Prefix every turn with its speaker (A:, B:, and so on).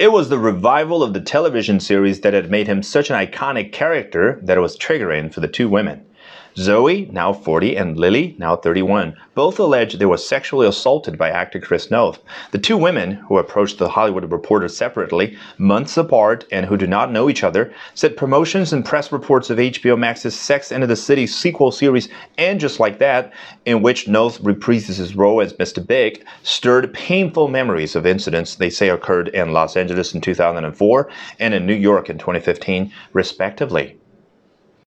A: It was the revival of the television series that had made him such an iconic character that it was triggering for the two women. Zoe, now 40, and Lily, now 31, both alleged they were sexually assaulted by actor Chris Noth. The two women, who approached The Hollywood Reporter separately, months apart, and who do not know each other, said promotions and press reports of HBO Max's Sex and the City sequel series, And Just Like That, in which Noth reprises his role as Mr. Big, stirred painful memories of incidents they say occurred in Los Angeles in 2004 and in New York in 2015, respectively.